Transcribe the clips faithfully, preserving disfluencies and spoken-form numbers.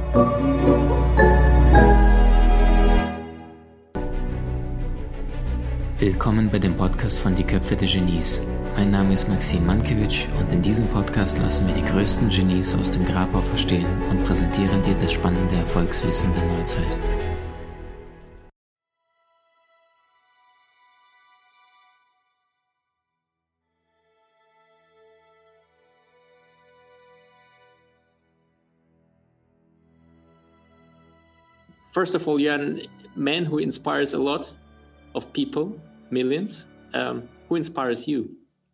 Willkommen bei dem Podcast von Die Köpfe der Genies. Mein Name ist Maxim Mankewitsch und in diesem Podcast lassen wir die größten Genies aus dem Grabau verstehen und präsentieren dir das spannende Erfolgswissen der Neuzeit. First of all, you're a man who inspires a lot of people, millions. Um, who inspires you?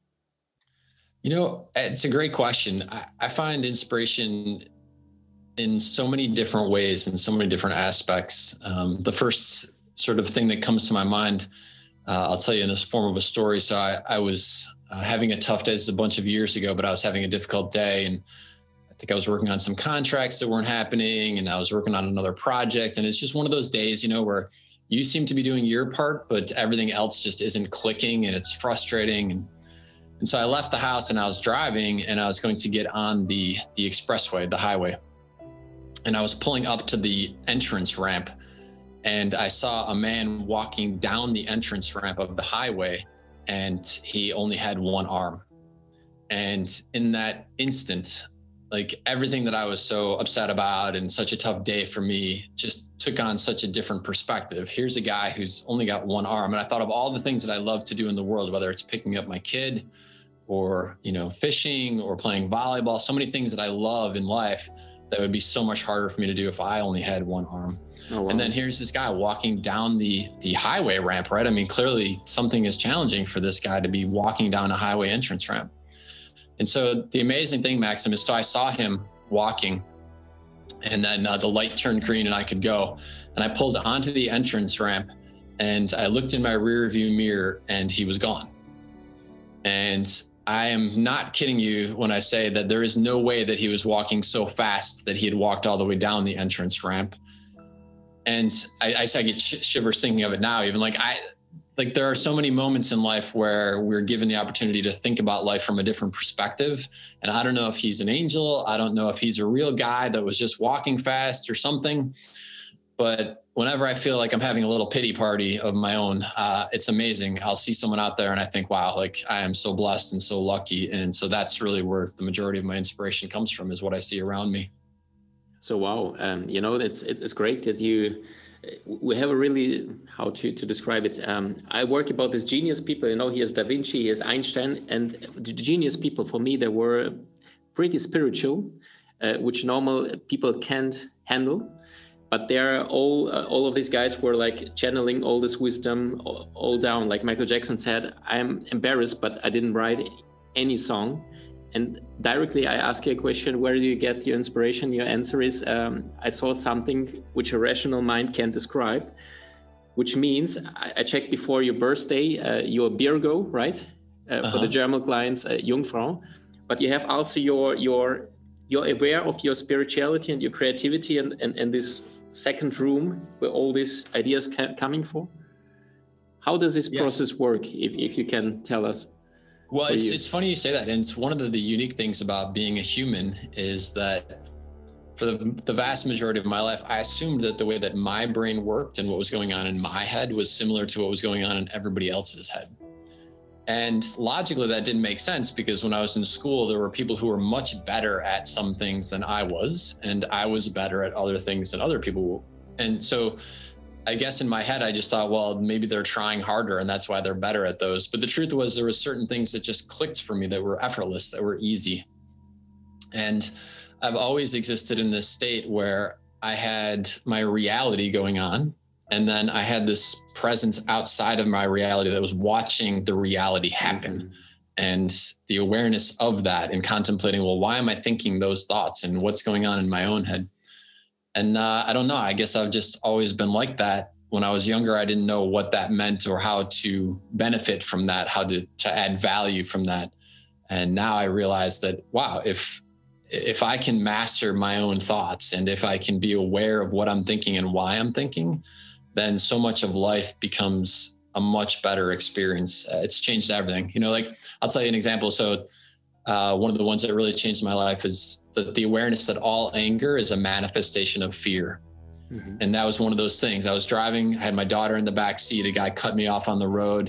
You know, it's a great question. I, I find inspiration in so many different ways, in so many different aspects. Um, the first sort of thing that comes to my mind, uh, I'll tell you in this form of a story. So I, I was uh, having a tough day. This is a bunch of years ago, but I was having a difficult day, and I think I was working on some contracts that weren't happening, and I was working on another project. And it's just one of those days, you know, where you seem to be doing your part, but everything else just isn't clicking, and it's frustrating. And, and so I left the house and I was driving, and I was going to get on the, the expressway, the highway. And I was pulling up to the entrance ramp, and I saw a man walking down the entrance ramp of the highway, and he only had one arm. And in that instant, like everything that I was so upset about and such a tough day for me just took on such a different perspective. Here's a guy who's only got one arm. And I thought of all the things that I love to do in the world, whether it's picking up my kid or, you know, fishing or playing volleyball, so many things that I love in life that would be so much harder for me to do if I only had one arm. Oh, wow. And then here's this guy walking down the, the highway ramp, right? I mean, clearly something is challenging for this guy to be walking down a highway entrance ramp. And so the amazing thing, Maxim, is so I saw him walking, and then uh, the light turned green and I could go. And I pulled onto the entrance ramp, and I looked in my rear view mirror, and he was gone. And I am not kidding you when I say that there is no way that he was walking so fast that he had walked all the way down the entrance ramp. And I, I, I get sh- shivers thinking of it now, even like I, Like there are so many moments in life where we're given the opportunity to think about life from a different perspective. And I don't know if he's an angel. I don't know if he's a real guy that was just walking fast or something. But whenever I feel like I'm having a little pity party of my own, uh, it's amazing. I'll see someone out there and I think, wow, like I am so blessed and so lucky. And so that's really where the majority of my inspiration comes from, is what I see around me. So, wow. Um, you know, it's, it's great that you... We have a really, how to, to describe it. Um, I work about these genius people, you know, here's Da Vinci, here's Einstein, and the genius people, for me, they were pretty spiritual, uh, which normal people can't handle. But they're all, uh, all of these guys were like channeling all this wisdom all, all down. Like Michael Jackson said, I'm embarrassed, but I didn't write any song. And directly I ask you a question, where do you get your inspiration? Your answer is, um, I saw something which a rational mind can't describe, which means I, I checked before your birthday, uh, you're Virgo, right? Uh, uh-huh. For the German clients, uh, Jungfrau. But you have also your, your, you're aware of your spirituality and your creativity and, and, and this second room where all these ideas ca- coming from. How does this yeah. process work, if, if you can tell us? Well, it's it's funny you say that. And it's one of the, the unique things about being a human is that for the, the vast majority of my life, I assumed that the way that my brain worked and what was going on in my head was similar to what was going on in everybody else's head. And logically, that didn't make sense, because when I was in school, there were people who were much better at some things than I was, and I was better at other things than other people were. And so I guess in my head, I just thought, well, maybe they're trying harder and that's why they're better at those. But the truth was, there were certain things that just clicked for me that were effortless, that were easy. And I've always existed in this state where I had my reality going on, and then I had this presence outside of my reality that was watching the reality happen. Mm-hmm. And the awareness of that and contemplating, well, why am I thinking those thoughts and what's going on in my own head? And uh, I don't know, I guess I've just always been like that. When I was younger, I didn't know what that meant or how to benefit from that, how to, to add value from that. And now I realize that, wow, if if I can master my own thoughts and if I can be aware of what I'm thinking and why I'm thinking, then so much of life becomes a much better experience. Uh, it's changed everything. You know, like I'll tell you an example. So uh, one of the ones that really changed my life is the, the awareness that all anger is a manifestation of fear. Mm-hmm. And that was one of those things. I was driving, I had my daughter in the back seat, a guy cut me off on the road.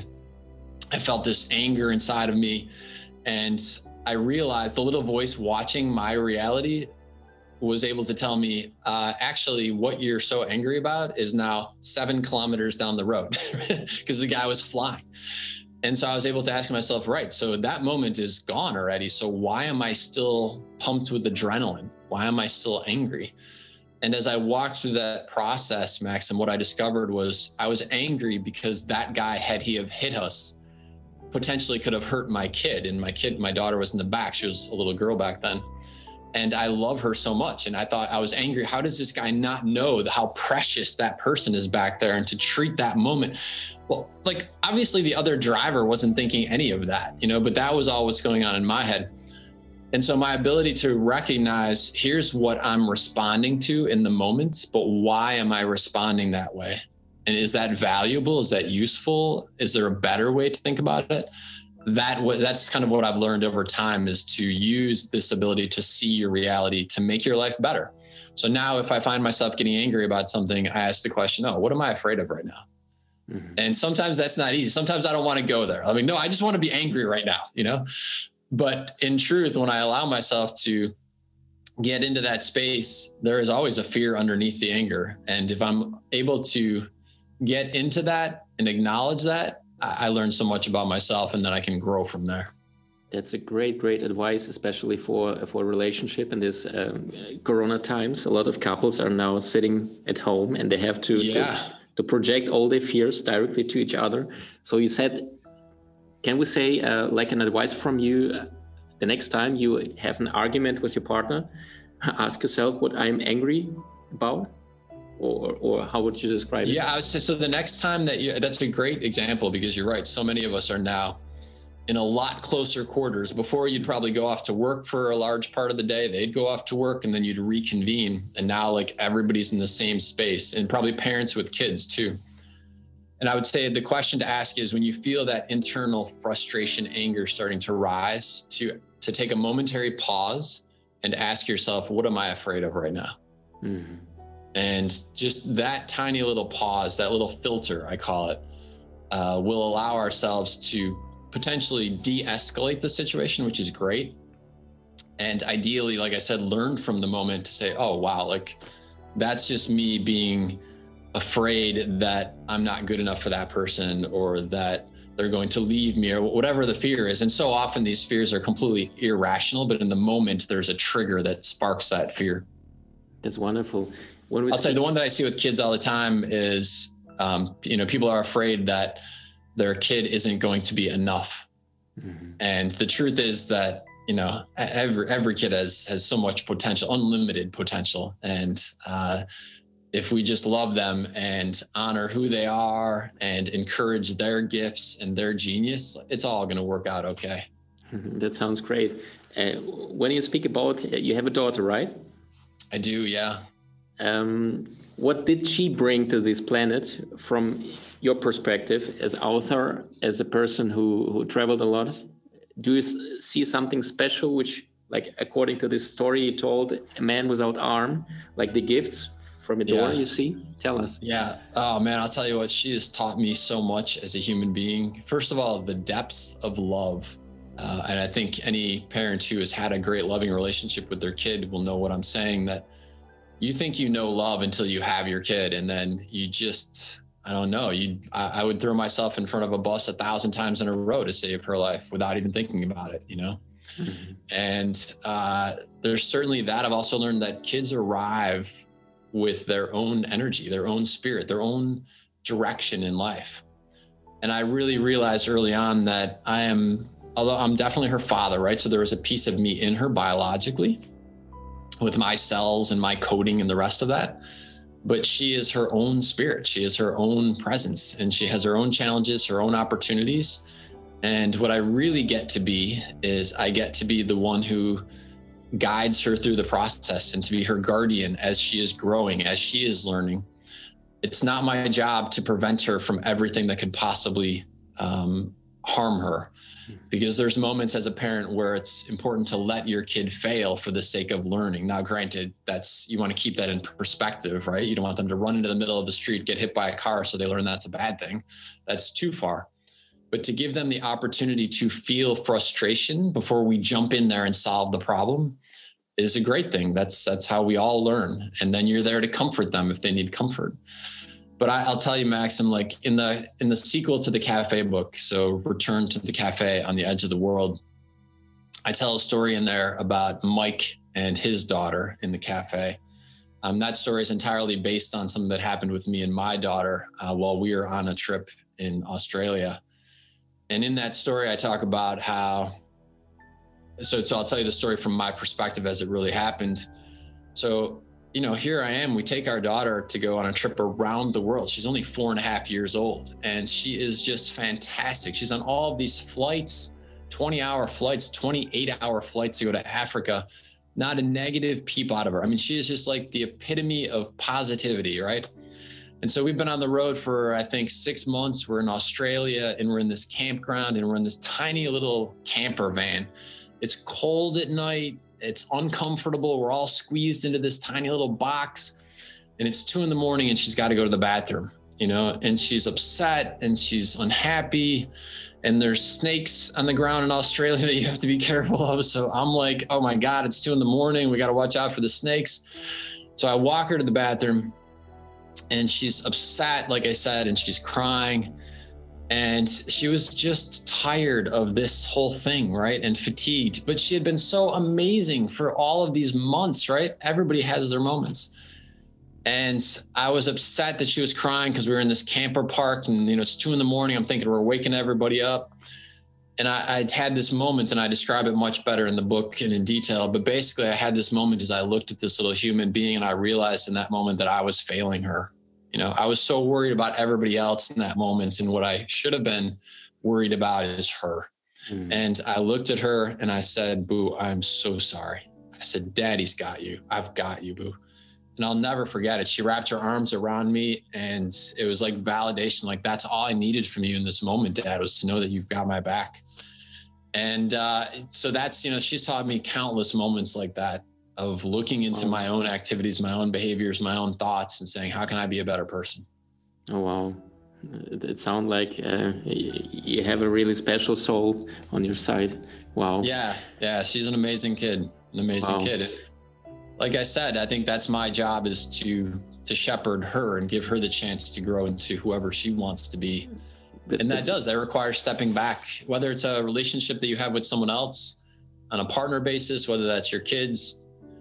I felt this anger inside of me. And I realized the little voice watching my reality was able to tell me, uh, actually, what you're so angry about is now seven kilometers down the road because the guy was flying. And so I was able to ask myself, right, so that moment is gone already. So why am I still pumped with adrenaline? Why am I still angry? And as I walked through that process, Maxim, what I discovered was I was angry because that guy, had he have hit us, potentially could have hurt my kid. And my kid, my daughter was in the back. She was a little girl back then. And I love her so much. And I thought, I was angry. How does this guy not know how precious that person is back there, and to treat that moment? Well, like, obviously the other driver wasn't thinking any of that, you know, but that was all what's going on in my head. And so my ability to recognize, here's what I'm responding to in the moment, but why am I responding that way? And is that valuable? Is that useful? Is there a better way to think about it? That that's kind of what I've learned over time, is to use this ability to see your reality to make your life better. So now if I find myself getting angry about something, I ask the question, oh, what am I afraid of right now? Mm-hmm. And sometimes that's not easy. Sometimes I don't want to go there. I mean, no, I just want to be angry right now, you know? But in truth, when I allow myself to get into that space, there is always a fear underneath the anger. And if I'm able to get into that and acknowledge that, I learned so much about myself, and then I can grow from there. That's a great, great advice, especially for for a relationship in this um, Corona times. A lot of couples are now sitting at home, and they have to, yeah. to to project all their fears directly to each other. So you said, can we say uh, like an advice from you, uh, the next time you have an argument with your partner, ask yourself what I'm angry about? Or, or how would you describe it? Yeah, I would say, so the next time that you, that's a great example, because you're right. So many of us are now in a lot closer quarters. Before, you'd probably go off to work for a large part of the day. They'd go off to work, and then you'd reconvene. And now, like, everybody's in the same space, and probably parents with kids too. And I would say the question to ask is, when you feel that internal frustration, anger starting to rise, to, to take a momentary pause and ask yourself, what am I afraid of right now? Mm-hmm. And just that tiny little pause, that little filter, I call it, uh, will allow ourselves to potentially de-escalate the situation, which is great. And ideally, like I said, learn from the moment to say, oh, wow, like, that's just me being afraid that I'm not good enough for that person, or that they're going to leave me, or whatever the fear is. And so often these fears are completely irrational, but in the moment, there's a trigger that sparks that fear. That's wonderful. When we I'll say the one that I see with kids all the time is, um, you know, people are afraid that their kid isn't going to be enough. Mm-hmm. And the truth is that, you know, every, every kid has, has so much potential, unlimited potential. And uh, if we just love them and honor who they are and encourage their gifts and their genius, it's all going to work out okay. That sounds great. Uh, when you speak about, you have a daughter, right? I do, yeah. Um, what did she bring to this planet from your perspective as author, as a person who, who traveled a lot? Do you see something special, which, like, according to this story you told, a man without arm, like the gifts from a door, yeah. You see? Tell us. Yeah. Oh, man, I'll tell you what, she has taught me so much as a human being. First of all, the depths of love. Uh, and I think any parent who has had a great loving relationship with their kid will know what I'm saying, that you think you know love until you have your kid, and then you just, I don't know, you, I, I would throw myself in front of a bus a thousand times in a row to save her life without even thinking about it, you know? Mm-hmm. And uh, there's certainly that. I've also learned that kids arrive with their own energy, their own spirit, their own direction in life. And I really realized early on that I am, although I'm definitely her father, right? So there was a piece of me in her biologically, with my cells and my coding and the rest of that. But she is her own spirit. She is her own presence, and she has her own challenges, her own opportunities. And what I really get to be is I get to be the one who guides her through the process, and to be her guardian as she is growing, as she is learning. It's not my job to prevent her from everything that could possibly um, harm her. Because there's moments as a parent where it's important to let your kid fail for the sake of learning. Now, granted, that's, you want to keep that in perspective, right? You don't want them to run into the middle of the street, get hit by a car, so they learn that's a bad thing. That's too far. But to give them the opportunity to feel frustration before we jump in there and solve the problem is a great thing. That's, that's how we all learn. And then you're there to comfort them if they need comfort. But I, I'll tell you, Maxim, like in the in the sequel to the Cafe book, so Return to the Cafe on the Edge of the World, I tell a story in there about Mike and his daughter in the cafe. Um, that story is entirely based on something that happened with me and my daughter uh, while we were on a trip in Australia. And in that story, I talk about how, so, so I'll tell you the story from my perspective as it really happened. So, you know, here I am, we take our daughter to go on a trip around the world. She's only four and a half years old, and she is just fantastic. She's on all of these flights, twenty hour flights, twenty-eight hour flights to go to Africa. Not a negative peep out of her. I mean, she is just like the epitome of positivity, right? And so we've been on the road for, I think, six months. We're in Australia, and we're in this campground, and we're in this tiny little camper van. It's cold at night. It's uncomfortable. We're all squeezed into this tiny little box, and it's two in the morning and she's got to go to the bathroom, you know, and she's upset and she's unhappy, and there's snakes on the ground in Australia that you have to be careful of. So I'm like, oh my God, it's two in the morning. We got to watch out for the snakes. So I walk her to the bathroom, and she's upset, like I said, and she's crying. And she was just tired of this whole thing, right? And fatigued, but she had been so amazing for all of these months, right? Everybody has their moments. And I was upset that she was crying because we were in this camper park, and, you know, it's two in the morning. I'm thinking we're waking everybody up. And I, I'd had this moment, and I describe it much better in the book and in detail. But basically I had this moment as I looked at this little human being, and I realized in that moment that I was failing her. You know, I was so worried about everybody else in that moment, and what I should have been worried about is her. Mm. And I looked at her and I said, Boo, I'm so sorry. I said, Daddy's got you. I've got you, Boo. And I'll never forget it. She wrapped her arms around me, and it was like validation. Like, that's all I needed from you in this moment, Dad, was to know that you've got my back. And uh, so that's, you know, she's taught me countless moments like that, of looking into oh. my own activities, my own behaviors, my own thoughts, and saying, how can I be a better person? Oh, wow. It sounds like uh, you have a really special soul on your side. Wow. Yeah. Yeah. She's an amazing kid, an amazing wow. kid. Like I said, I think that's my job, is to, to shepherd her and give her the chance to grow into whoever she wants to be. And that does, that requires stepping back, whether it's a relationship that you have with someone else on a partner basis, whether that's your kids,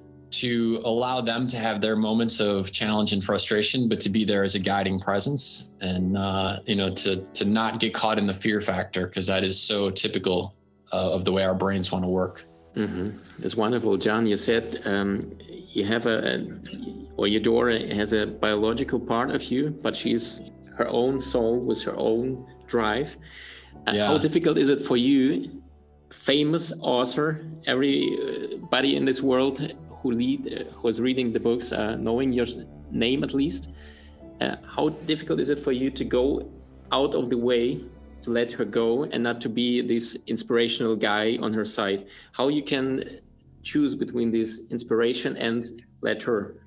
to allow them to have their moments of challenge and frustration, but to be there as a guiding presence, and, uh, you know, to, to not get caught in the fear factor, because that is so typical uh, of the way our brains want to work. Mm-hmm. That's wonderful. John, you said um, you have a, a, or your daughter has a biological part of you, but she's her own soul with her own drive. Uh, yeah. How difficult is it for you, famous author, everybody in this world who read, uh, who's reading the books, uh, knowing your name at least, uh, how difficult is it for you to go out of the way to let her go and not to be this inspirational guy on her side? How you can choose between this inspiration and let her?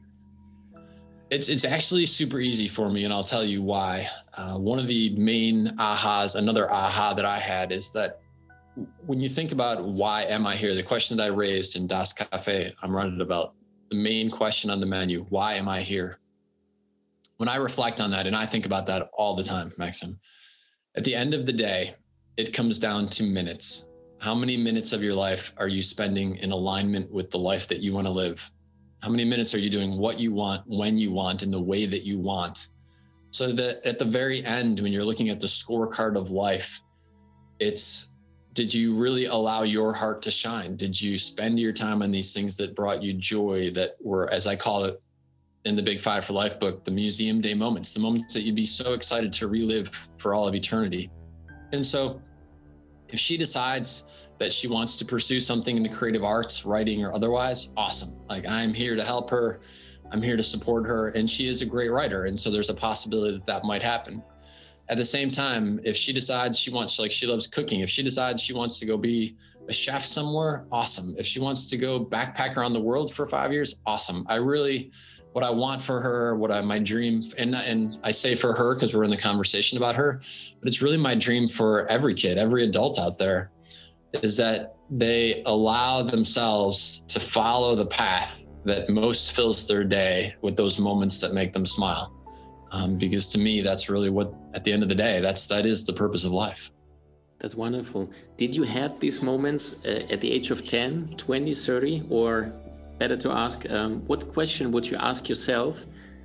It's it's actually super easy for me, and I'll tell you why. Uh, one of the main ahas, another aha that I had, is that when you think about why am I here, the question that I raised in Das Cafe, I'm running about the main question on the menu, why am I here? When I reflect on that, and I think about that all the time, Maxim, at the end of the day, it comes down to minutes. How many minutes of your life are you spending in alignment with the life that you want to live? How many minutes are you doing what you want, when you want, in the way that you want? So that at the very end, when you're looking at the scorecard of life, it's, did you really allow your heart to shine? Did you spend your time on these things that brought you joy, that were, as I call it in the Big Five for Life book, the museum day moments, the moments that you'd be so excited to relive for all of eternity? And so if she decides that she wants to pursue something in the creative arts, writing or otherwise, awesome. Like, I'm here to help her. I'm here to support her. And she is a great writer. And so there's a possibility that that might happen. at the same time, if she decides she wants, like she loves cooking, if she decides she wants to go be a chef somewhere, awesome. If she wants to go backpack around the world for five years, awesome. I really, what I want for her, what I, my dream, and, and I say for her, because we're in the conversation about her, but it's really my dream for every kid, every adult out there, is that they allow themselves to follow the path that most fills their day with those moments that make them smile. Um, because to me, that's really what, at the end of the day, that's, that is the purpose of life. That's wonderful. Did you have these moments uh, at the age of ten, twenty, thirty, or better to ask, um, what question would you ask yourself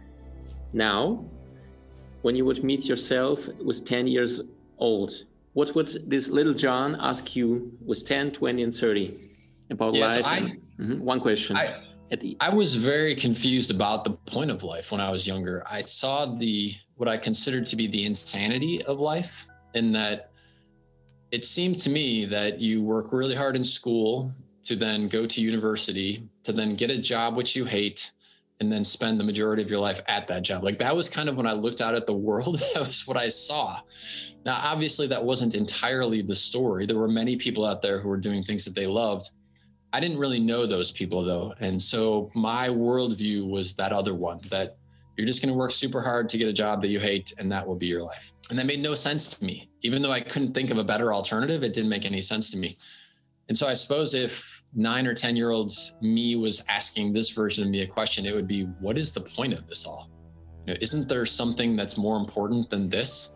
now when you would meet yourself with ten years old? What would this little John ask you with ten, twenty, and thirty about yes, life? I, and, mm-hmm, one question. I, at the I was very confused about the point of life when I was younger. I saw the, what I considered to be the insanity of life, in that it seemed to me that you work really hard in school to then go to university, to then get a job which you hate, and then spend the majority of your life at that job. Like that was kind of when I looked out at the world, that was what I saw. Now, obviously that wasn't entirely the story. There were many people out there who were doing things that they loved. I didn't really know those people though. And so my worldview was that other one, that you're just going to work super hard to get a job that you hate, and that will be your life. And that made no sense to me. Even though I couldn't think of a better alternative, it didn't make any sense to me. And so I suppose if nine or ten year olds me was asking this version of me a question, it would be, what is the point of this all? You know, isn't there something that's more important than this?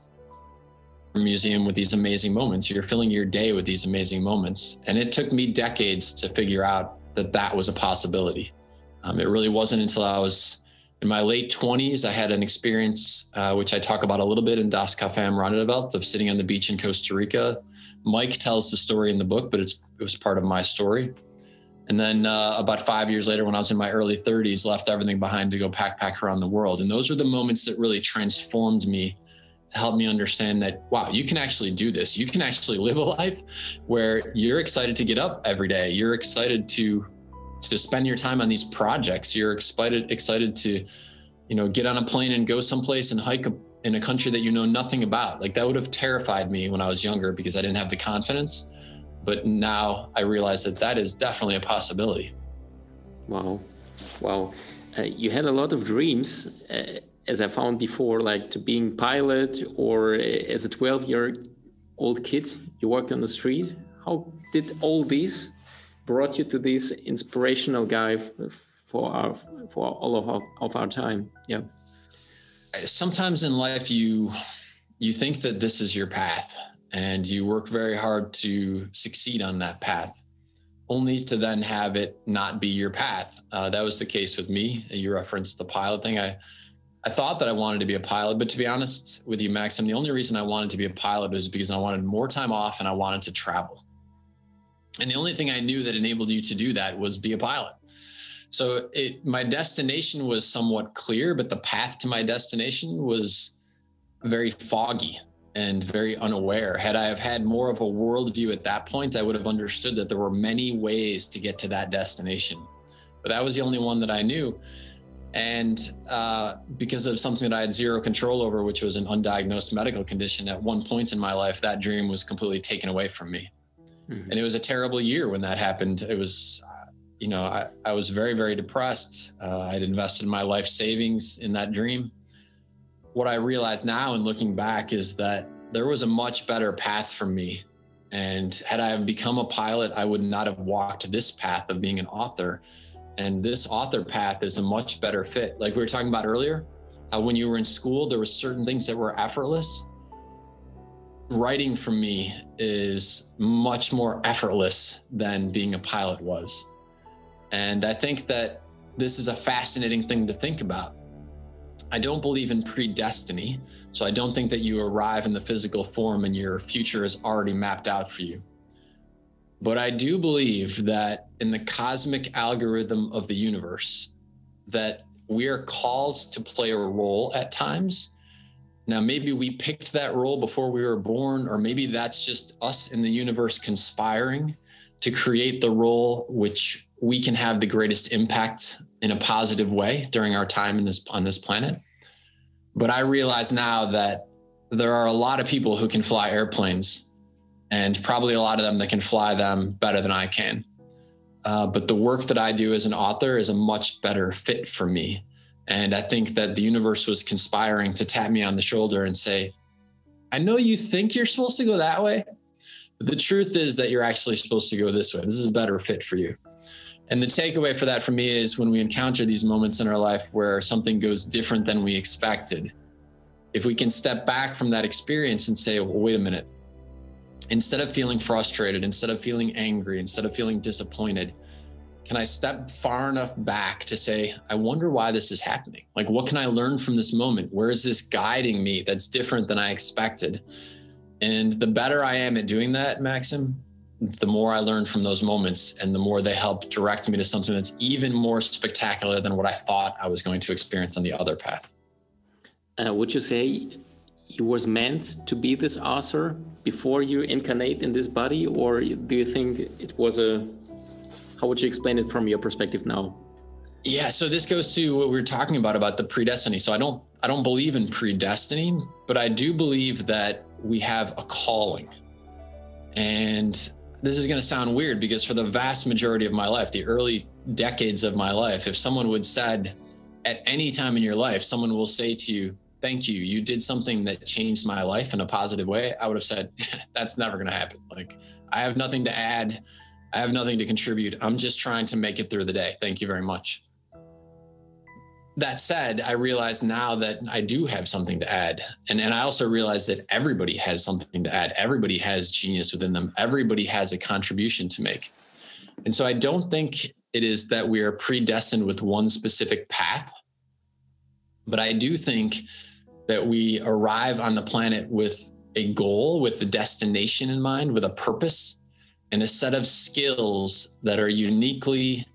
Museum with these amazing moments. You're filling your day with these amazing moments. And it took me decades to figure out that that was a possibility. Um, it really wasn't until I was in my late twenties, I had an experience, uh, which I talk about a little bit in Das Café am Rande der Welt, of sitting on the beach in Costa Rica. Mike tells the story in the book, but it's, it was part of my story. And then uh, about five years later, when I was in my early thirties, left everything behind to go backpack around the world. And those are the moments that really transformed me, to help me understand that, wow, you can actually do this. You can actually live a life where you're excited to get up every day. You're excited to, to spend your time on these projects. You're excited, excited to, you know, get on a plane and go someplace and hike a, in a country that you know nothing about. Like that would have terrified me when I was younger because I didn't have the confidence. But now I realize that that is definitely a possibility. Wow. Wow. Uh, you had a lot of dreams, uh, as I found before, like to being pilot, or uh, as a twelve year old kid, you worked on the street. How did all these brought you to this inspirational guy for our, for all of our, of our time? Yeah. Sometimes in life, you, you think that this is your path, and you work very hard to succeed on that path, only to then have it not be your path. Uh, that was the case with me. You referenced the pilot thing. I, I thought that I wanted to be a pilot, but to be honest with you, Maxim, the only reason I wanted to be a pilot was because I wanted more time off and I wanted to travel. And the only thing I knew that enabled you to do that was be a pilot. So it, my destination was somewhat clear, but the path to my destination was very foggy and very unaware. Had I have had more of a worldview at that point, I would have understood that there were many ways to get to that destination. But that was the only one that I knew. And uh, because of something that I had zero control over, which was an undiagnosed medical condition, at one point in my life, that dream was completely taken away from me. Mm-hmm. And it was a terrible year when that happened. It was, uh, you know, I, I was very, very depressed. Uh, I'd invested my life savings in that dream. What I realize now in looking back is that there was a much better path for me. And had I become a pilot, I would not have walked this path of being an author. And this author path is a much better fit. Like we were talking about earlier, uh, when you were in school, there were certain things that were effortless. Writing for me is much more effortless than being a pilot was. And I think that this is a fascinating thing to think about. I don't believe in predestiny, so I don't think that you arrive in the physical form and your future is already mapped out for you. But I do believe that in the cosmic algorithm of the universe, that we are called to play a role at times. Now, maybe we picked that role before we were born, or maybe that's just us in the universe conspiring to create the role which we can have the greatest impact in a positive way during our time in this, on this planet. But I realize now that there are a lot of people who can fly airplanes, and probably a lot of them that can fly them better than I can. Uh, but the work that I do as an author is a much better fit for me. And I think that the universe was conspiring to tap me on the shoulder and say, I know you think you're supposed to go that way, but the truth is that you're actually supposed to go this way. This is a better fit for you. And the takeaway for that for me is when we encounter these moments in our life where something goes different than we expected, if we can step back from that experience and say, well, wait a minute, instead of feeling frustrated, instead of feeling angry, instead of feeling disappointed, can I step far enough back to say, I wonder why this is happening? Like, what can I learn from this moment? Where is this guiding me that's different than I expected? And the better I am at doing that, Maxim, the more I learn from those moments and the more they help direct me to something that's even more spectacular than what I thought I was going to experience on the other path. Uh, would you say you was meant to be this author before you incarnate in this body, or do you think it was a, how would you explain it from your perspective now? Yeah, so this goes to what we were talking about, about the predestiny. So I don't, I don't believe in predestining, but I do believe that we have a calling. And this is going to sound weird because for the vast majority of my life, the early decades of my life, if someone would said at any time in your life, someone will say to you, thank you, you did something that changed my life in a positive way, I would have said, that's never going to happen. Like, I have nothing to add. I have nothing to contribute. I'm just trying to make it through the day. Thank you very much. That said, I realize now that I do have something to add. And, and I also realize that everybody has something to add. Everybody has genius within them. Everybody has a contribution to make. And so I don't think it is that we are predestined with one specific path, but I do think that we arrive on the planet with a goal, with a destination in mind, with a purpose, and a set of skills that are uniquely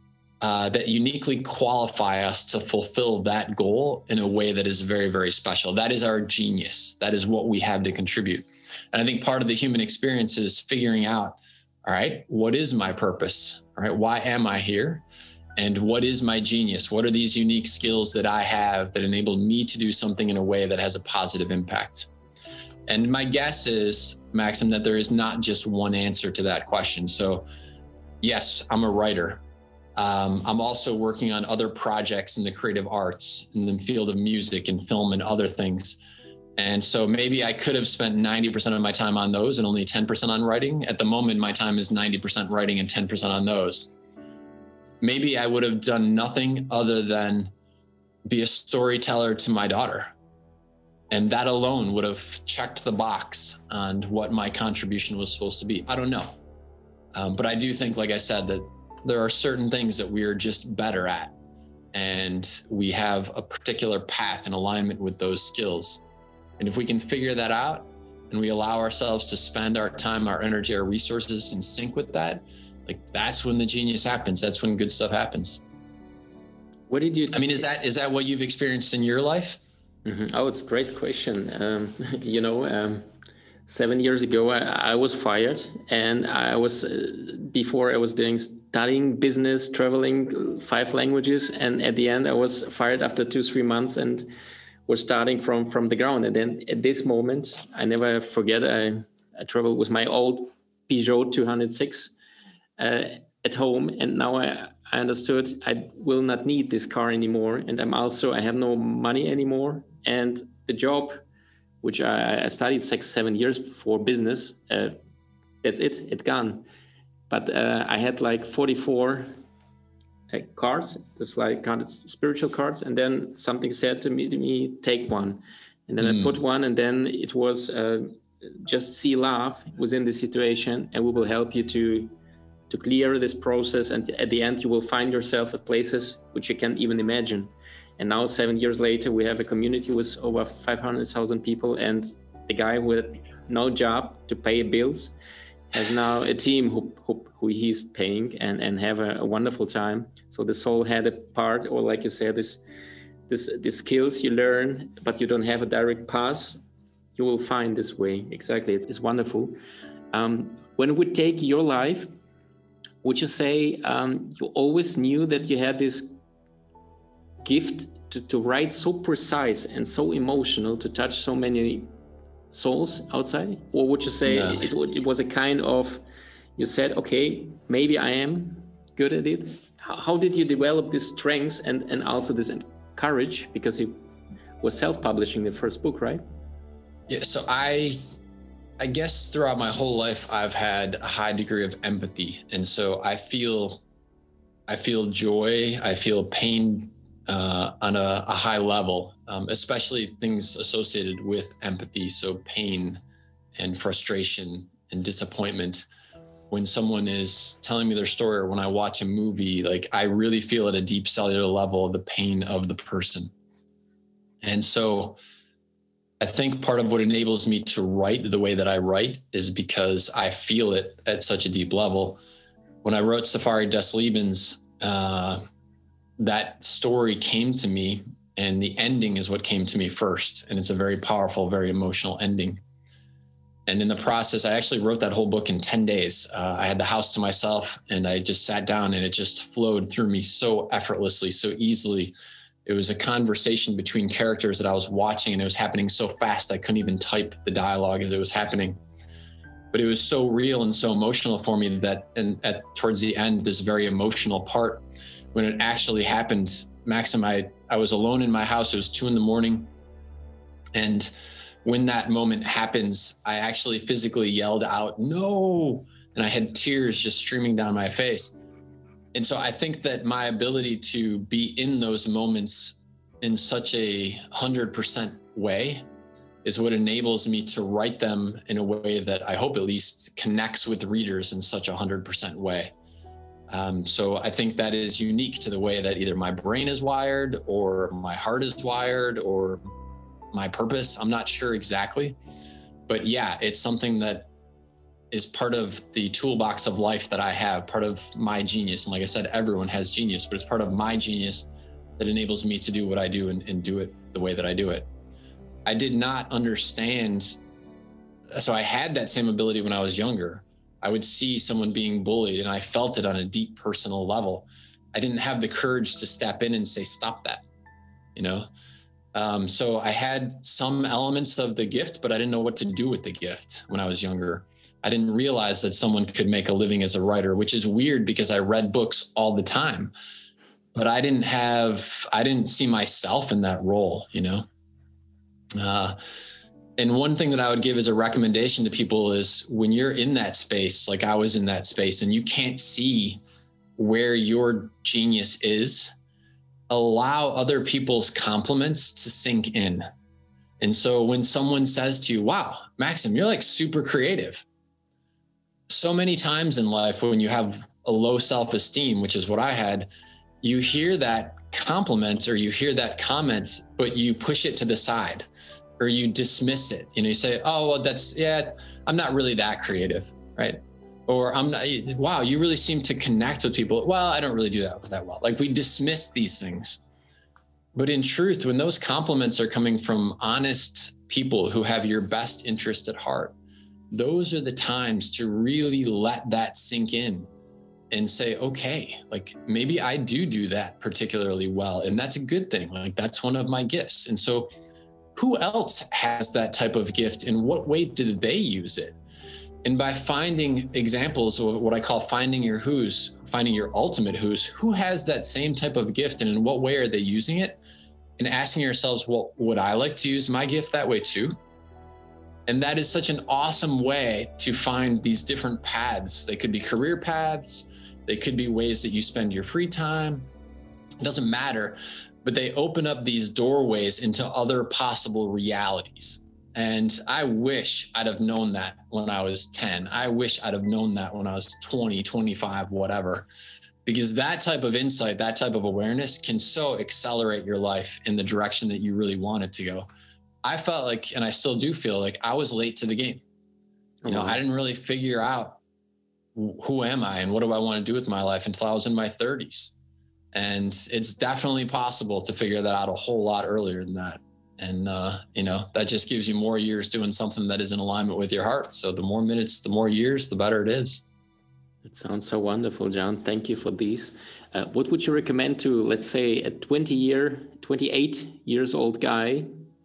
Uh, that uniquely qualify us to fulfill that goal in a way that is very, very special. That is our genius. That is what we have to contribute. And I think part of the human experience is figuring out, all right, what is my purpose? All right, why am I here? And what is my genius? What are these unique skills that I have that enable me to do something in a way that has a positive impact? And my guess is, Maxim, that there is not just one answer to that question. So yes, I'm a writer. Um, I'm also working on other projects in the creative arts, in the field of music and film and other things. And so maybe I could have spent ninety percent of my time on those and only ten percent on writing. At the moment, my time is ninety percent writing and ten percent on those. Maybe I would have done nothing other than be a storyteller to my daughter. And that alone would have checked the box on what my contribution was supposed to be. I don't know. Um, but I do think, like I said, that there are certain things that we are just better at, and we have a particular path in alignment with those skills. And if we can figure that out and we allow ourselves to spend our time, our energy, our resources in sync with that, like, that's when the genius happens. That's when good stuff happens. What did you? I mean, is that is that what you've experienced in your life? Mm-hmm. Oh, it's a great question. Um, you know, um, seven years ago, I, I was fired, and I was uh, before I was doing. studying business, traveling five languages. And at the end, I was fired after two, three months and was starting from, from the ground. And then at this moment, I never forget, I, I traveled with my old Peugeot two oh six uh, at home. And now I, I understood I will not need this car anymore. And I'm also, I have no money anymore. And the job, which I, I studied six, seven years for business, uh, that's it, it's gone. But uh, I had like forty-four uh, cards, just like kind of spiritual cards. And then something said to me, to me, take one. And then mm. I put one, and then it was uh, just see love within the situation, and we will help you to to clear this process. And at the end, you will find yourself at places which you can't even imagine. And now, seven years later, we have a community with over five hundred thousand people. And the guy with no job to pay bills has now a team who, who, who he's paying and, and have a, a wonderful time. So the soul had a part, or like you said, this, this, the skills you learn, but you don't have a direct path, you will find this way. Exactly, it's, it's wonderful. Um, when we take your life, would you say um, you always knew that you had this gift to, to write so precise and so emotional, to touch so many souls outside? Or would you say no. it, it was a kind of, you said, okay, maybe I am good at it? How, how did you develop these strengths and, and also this courage? Because you were self-publishing the first book, right? Yeah, so I, I guess throughout my whole life, I've had a high degree of empathy. And so I feel, I feel joy, I feel pain uh, on a, a high level, um, especially things associated with empathy. So pain and frustration and disappointment. When someone is telling me their story or when I watch a movie, like I really feel at a deep cellular level the pain of the person. And so I think part of what enables me to write the way that I write is because I feel it at such a deep level. When I wrote Safari des Lebens, uh, that story came to me, and the ending is what came to me first. And it's a very powerful, very emotional ending. And in the process, I actually wrote that whole book in ten days. Uh, I had the house to myself and I just sat down and it just flowed through me so effortlessly, so easily. It was a conversation between characters that I was watching, and it was happening so fast I couldn't even type the dialogue as it was happening. But it was so real and so emotional for me that, and at towards the end, this very emotional part, when it actually happened, Maxim, I, I was alone in my house. It was two in the morning. And when that moment happens, I actually physically yelled out, "No!" And I had tears just streaming down my face. And so I think that my ability to be in those moments in such a hundred percent way is what enables me to write them in a way that I hope at least connects with readers in such a hundred percent way. Um, so I think that is unique to the way that either my brain is wired or my heart is wired or my purpose. I'm not sure exactly, but yeah, it's something that is part of the toolbox of life that I have, part of my genius. And like I said, everyone has genius, but it's part of my genius that enables me to do what I do and, and do it the way that I do it. I did not understand. So I had that same ability when I was younger. I would see someone being bullied and I felt it on a deep personal level. I didn't have the courage to step in and say, "Stop that," you know? Um, so I had some elements of the gift, but I didn't know what to do with the gift when I was younger. I didn't realize that someone could make a living as a writer, which is weird because I read books all the time, but I didn't have, I didn't see myself in that role, you know? Uh, and one thing that I would give as a recommendation to people is when you're in that space, like I was in that space, and you can't see where your genius is, allow other people's compliments to sink in. And so when someone says to you, "Wow, Maxim, you're like super creative." So many times in life when you have a low self-esteem, which is what I had, you hear that compliment or you hear that comment, but you push it to the side or you dismiss it. You know, you say, "Oh, well, that's, yeah, I'm not really that creative," right? Or I'm not, "Wow, you really seem to connect with people." "Well, I don't really do that that well." Like we dismiss these things. But in truth, when those compliments are coming from honest people who have your best interest at heart, those are the times to really let that sink in and say, okay, like maybe I do do that particularly well. And that's a good thing. Like that's one of my gifts. And so who else has that type of gift? In what way do they use it? And by finding examples of what I call finding your who's, finding your ultimate who's, who has that same type of gift and in what way are they using it? And asking yourselves, well, would I like to use my gift that way too? And that is such an awesome way to find these different paths. They could be career paths. They could be ways that you spend your free time. It doesn't matter, but they open up these doorways into other possible realities. And I wish I'd have known that when I was ten. I wish I'd have known that when I was twenty, twenty-five, whatever, because that type of insight, that type of awareness can so accelerate your life in the direction that you really want it to go. I felt like, and I still do feel like I was late to the game. You know, I didn't really figure out who am I and what do I want to do with my life until I was in my thirties. And it's definitely possible to figure that out a whole lot earlier than that. And, uh, you know, that just gives you more years doing something that is in alignment with your heart. So the more minutes, the more years, the better it is. It sounds so wonderful, John. Thank you for these. Uh, what would you recommend to, let's say, a twenty year, twenty-eight years old guy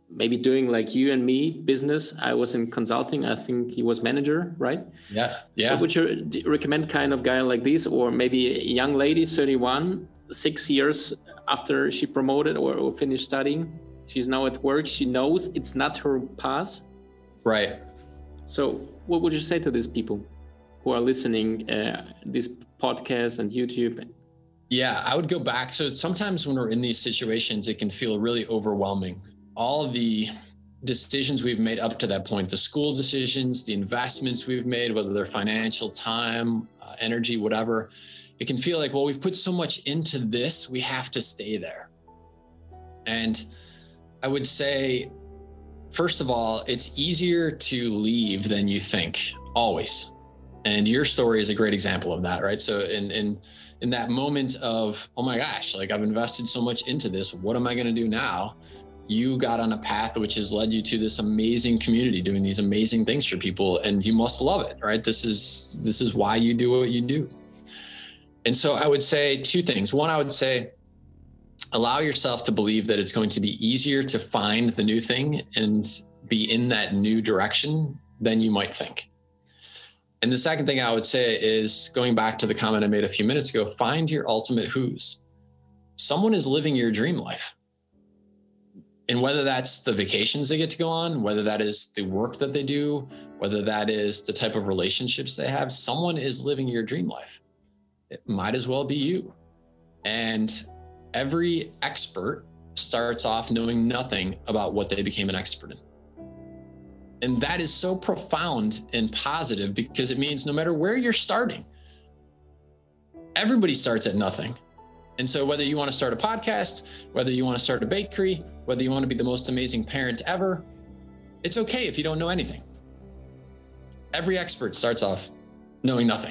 maybe doing like you and me business. I was in consulting. I think he was manager, right? Yeah, yeah. So would you recommend kind of guy like this, or maybe a young lady, thirty-one, six years after she promoted or, or finished studying, she's now at work. She knows it's not her path. Right. So what would you say to these people who are listening uh, this podcast and YouTube? Yeah, I would go back. So sometimes when we're in these situations, it can feel really overwhelming. All the decisions we've made up to that point, the school decisions, the investments we've made, whether they're financial, time, uh, energy, whatever, it can feel like, well, we've put so much into this, we have to stay there. And I would say, first of all, it's easier to leave than you think, always. And your story is a great example of that, right? So in in in that moment of, oh my gosh, like I've invested so much into this, what am I going to do now? You got on a path which has led you to this amazing community, doing these amazing things for people, and you must love it, right? This is this is why you do what you do. And so I would say two things. One, I would say, allow yourself to believe that it's going to be easier to find the new thing and be in that new direction than you might think. And the second thing I would say is, going back to the comment I made a few minutes ago, find your ultimate who's. Someone is living your dream life. And whether that's the vacations they get to go on, whether that is the work that they do, whether that is the type of relationships they have, someone is living your dream life. It might as well be you. And every expert starts off knowing nothing about what they became an expert in. And that is so profound and positive, because it means no matter where you're starting, everybody starts at nothing. And so whether you want to start a podcast, whether you want to start a bakery, whether you want to be the most amazing parent ever, it's okay if you don't know anything. Every expert starts off knowing nothing.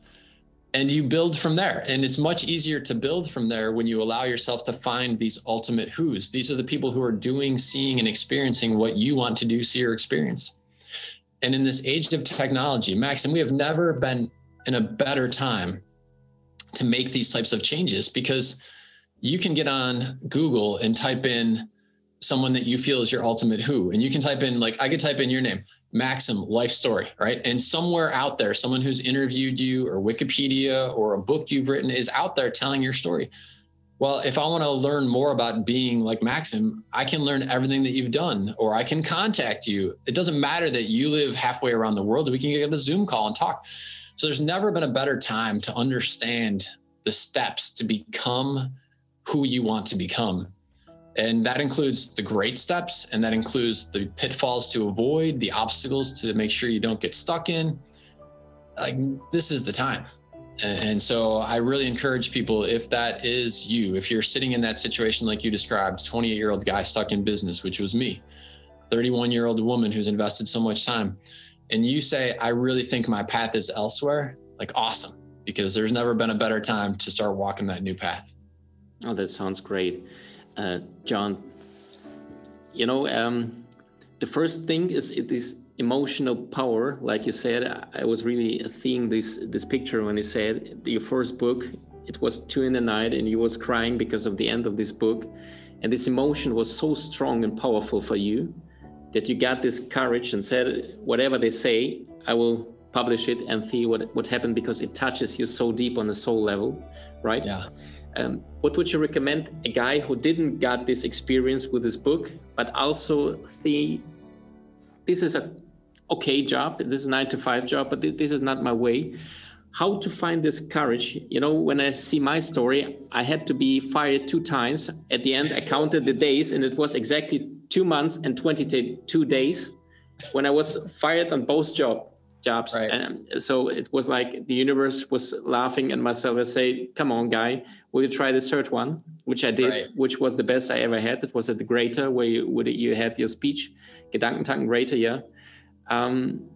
And you build from there. And it's much easier to build from there when you allow yourself to find these ultimate who's. These are the people who are doing, seeing, and experiencing what you want to do, see, or experience. And in this age of technology, Max, and we have never been in a better time to make these types of changes, because you can get on Google and type in someone that you feel is your ultimate who. And you can type in, like, I could type in your name, Maxim, life story, right? And somewhere out there, someone who's interviewed you, or Wikipedia, or a book you've written is out there telling your story. Well, if I want to learn more about being like Maxim, I can learn everything that you've done, or I can contact you. It doesn't matter that you live halfway around the world. We can get a Zoom call and talk. So there's never been a better time to understand the steps to become who you want to become. And that includes the great steps, and that includes the pitfalls to avoid, the obstacles to make sure you don't get stuck in. Like, this is the time. And so I really encourage people, if that is you, if you're sitting in that situation like you described, twenty-eight-year-old guy stuck in business, which was me, thirty-one-year-old woman who's invested so much time, and you say, I really think my path is elsewhere, like, awesome, because there's never been a better time to start walking that new path. Oh, that sounds great. Uh, John, you know, um, the first thing is it is emotional power. Like you said, I was really seeing this this picture when you said your first book, it was two in the night and you was crying because of the end of this book. And this emotion was so strong and powerful for you that you got this courage and said, whatever they say, I will publish it and see what, what happened, because it touches you so deep on the soul level, right? Yeah. Um, what would you recommend a guy who didn't got this experience with this book, but also see this is a okay job, this is a nine to five job, but th- this is not my way. How to find this courage? You know, when I see my story, I had to be fired two times. At the end, I counted the days, and it was exactly two months and twenty-two days when I was fired on both job. jobs. Right. And so it was like the universe was laughing at myself and say, come on, guy, will you try the third one? Which I did, Right. which was the best I ever had. It was at the Greater, where you, where you had your speech, Gedankentanken Greater, yeah. Um,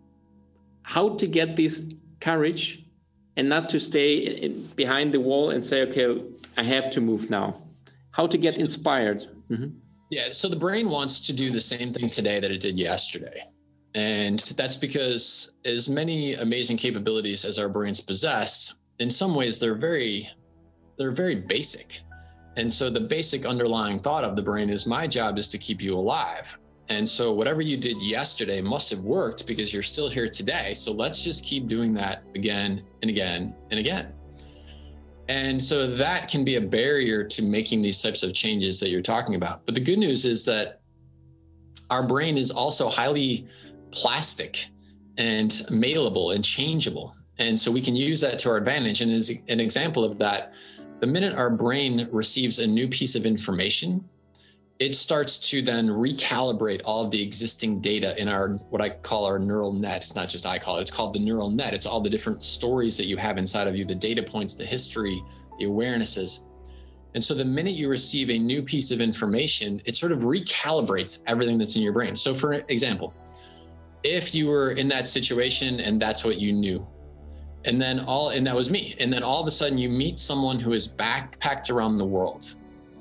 how to get this courage and not to stay in, behind the wall and say, okay, I have to move now. How to get inspired. Mm-hmm. Yeah. So the brain wants to do the same thing today that it did yesterday. And that's because as many amazing capabilities as our brains possess, in some ways they're very, they're very basic. And so the basic underlying thought of the brain is my job is to keep you alive. And so whatever you did yesterday must have worked because you're still here today. So let's just keep doing that again and again and again. And so that can be a barrier to making these types of changes that you're talking about. But the good news is that our brain is also highly plastic and malleable and changeable. And so we can use that to our advantage. And as an example of that, the minute our brain receives a new piece of information, it starts to then recalibrate all of the existing data in our, what I call our neural net. It's not just I call it, it's called the neural net. It's all the different stories that you have inside of you, the data points, the history, the awarenesses. And so the minute you receive a new piece of information, it sort of recalibrates everything that's in your brain. So for example, if you were in that situation and that's what you knew, and then all, and that was me. And then all of a sudden you meet someone who is backpacked around the world,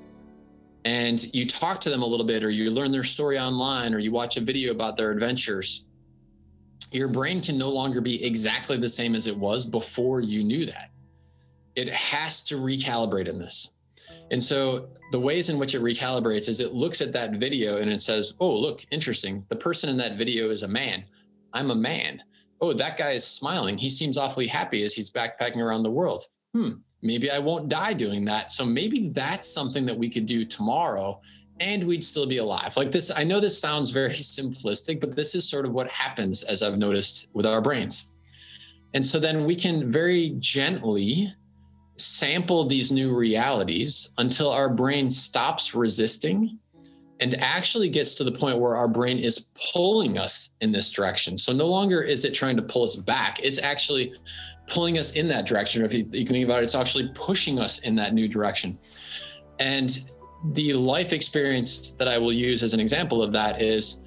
and you talk to them a little bit, or you learn their story online, or you watch a video about their adventures, your brain can no longer be exactly the same as it was before you knew that. It has to recalibrate in this. And so the ways in which it recalibrates is it looks at that video and it says, oh, look, interesting. The person in that video is a man. I'm a man. Oh, that guy is smiling. He seems awfully happy as he's backpacking around the world. Hmm. Maybe I won't die doing that. So maybe that's something that we could do tomorrow and we'd still be alive. Like this, I know this sounds very simplistic, but this is sort of what happens, as I've noticed, with our brains. And so then we can very gently sample these new realities until our brain stops resisting and actually gets to the point where our brain is pulling us in this direction. So no longer is it trying to pull us back. It's actually pulling us in that direction. Or if you, you can think about it, it's actually pushing us in that new direction. And the life experience that I will use as an example of that is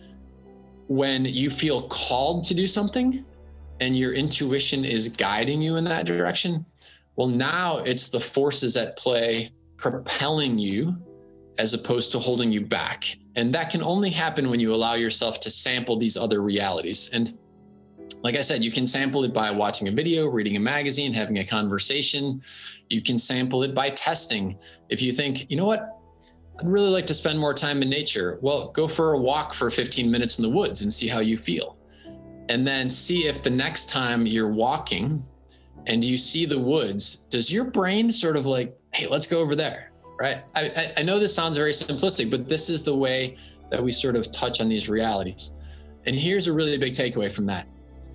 when you feel called to do something and your intuition is guiding you in that direction. Well, now it's the forces at play propelling you as opposed to holding you back. And that can only happen when you allow yourself to sample these other realities. And like I said, you can sample it by watching a video, reading a magazine, having a conversation. You can sample it by testing. If you think, you know what, I'd really like to spend more time in nature. Well, go for a walk for fifteen minutes in the woods and see how you feel. And then see if the next time you're walking and you see the woods, does your brain sort of like, hey, let's go over there, right? I, I know this sounds very simplistic, but this is the way that we sort of touch on these realities. And here's a really big takeaway from that.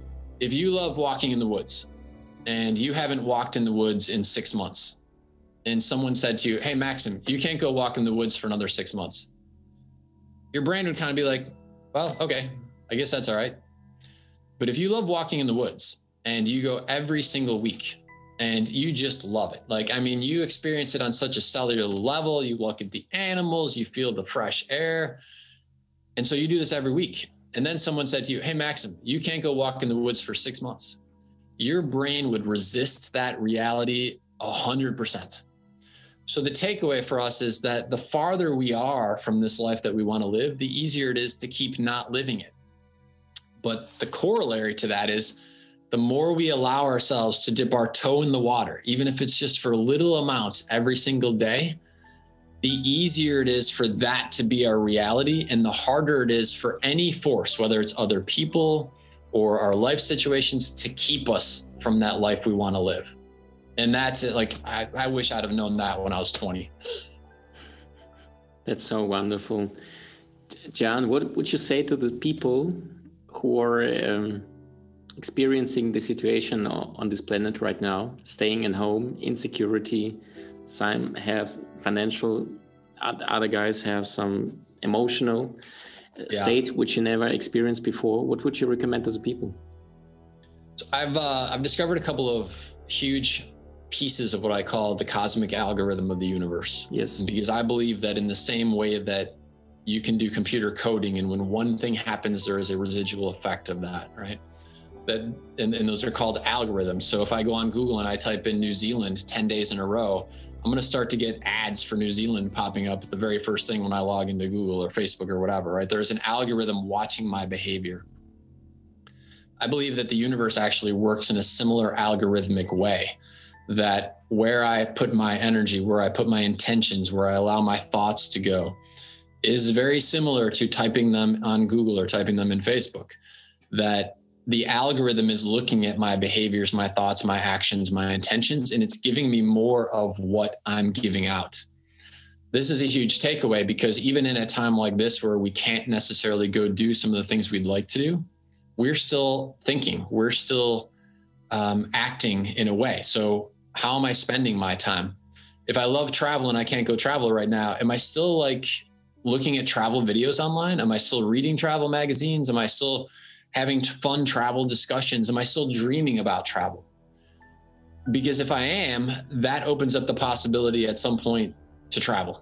If you love walking in the woods and you haven't walked in the woods in six months and someone said to you, hey, Maxim, you can't go walk in the woods for another six months. Your brain would kind of be like, well, okay, I guess that's all right. But if you love walking in the woods and you go every single week and you just love it, like, I mean, you experience it on such a cellular level, you look at the animals, you feel the fresh air. And so you do this every week. And then someone said to you, hey, Maxim, you can't go walk in the woods for six months. Your brain would resist that reality a hundred percent. So the takeaway for us is that the farther we are from this life that we want to live, the easier it is to keep not living it. But the corollary to that is the more we allow ourselves to dip our toe in the water, even if it's just for little amounts every single day, the easier it is for that to be our reality and the harder it is for any force, whether it's other people or our life situations, to keep us from that life we want to live. And that's it. Like, I, I wish I'd have known that when I was twenty. That's so wonderful. John, what would you say to the people who are um, experiencing the situation on this planet right now, staying at home, insecurity? Some have financial, other guys have some emotional yeah. state which you never experienced before. What would you recommend to the people? So I've uh, I've discovered a couple of huge pieces of what I call the cosmic algorithm of the universe. Yes. Because I believe that in the same way that you can do computer coding, and when one thing happens, there is a residual effect of that, right? That and, and those are called algorithms. So if I go on Google and I type in New Zealand ten days in a row, I'm going to start to get ads for New Zealand popping up the very first thing when I log into Google or Facebook or whatever, right? There's an algorithm watching my behavior. I believe that the universe actually works in a similar algorithmic way, that where I put my energy, where I put my intentions, where I allow my thoughts to go is very similar to typing them on Google or typing them in Facebook. That the algorithm is looking at my behaviors, my thoughts, my actions, my intentions, and it's giving me more of what I'm giving out. This is a huge takeaway because even in a time like this where we can't necessarily go do some of the things we'd like to do, we're still thinking, we're still um, acting in a way. So how am I spending my time? If I love travel and I can't go travel right now, am I still like looking at travel videos online? Am I still reading travel magazines? Am I still having fun travel discussions? Am I still dreaming about travel? Because if I am, that opens up the possibility at some point to travel.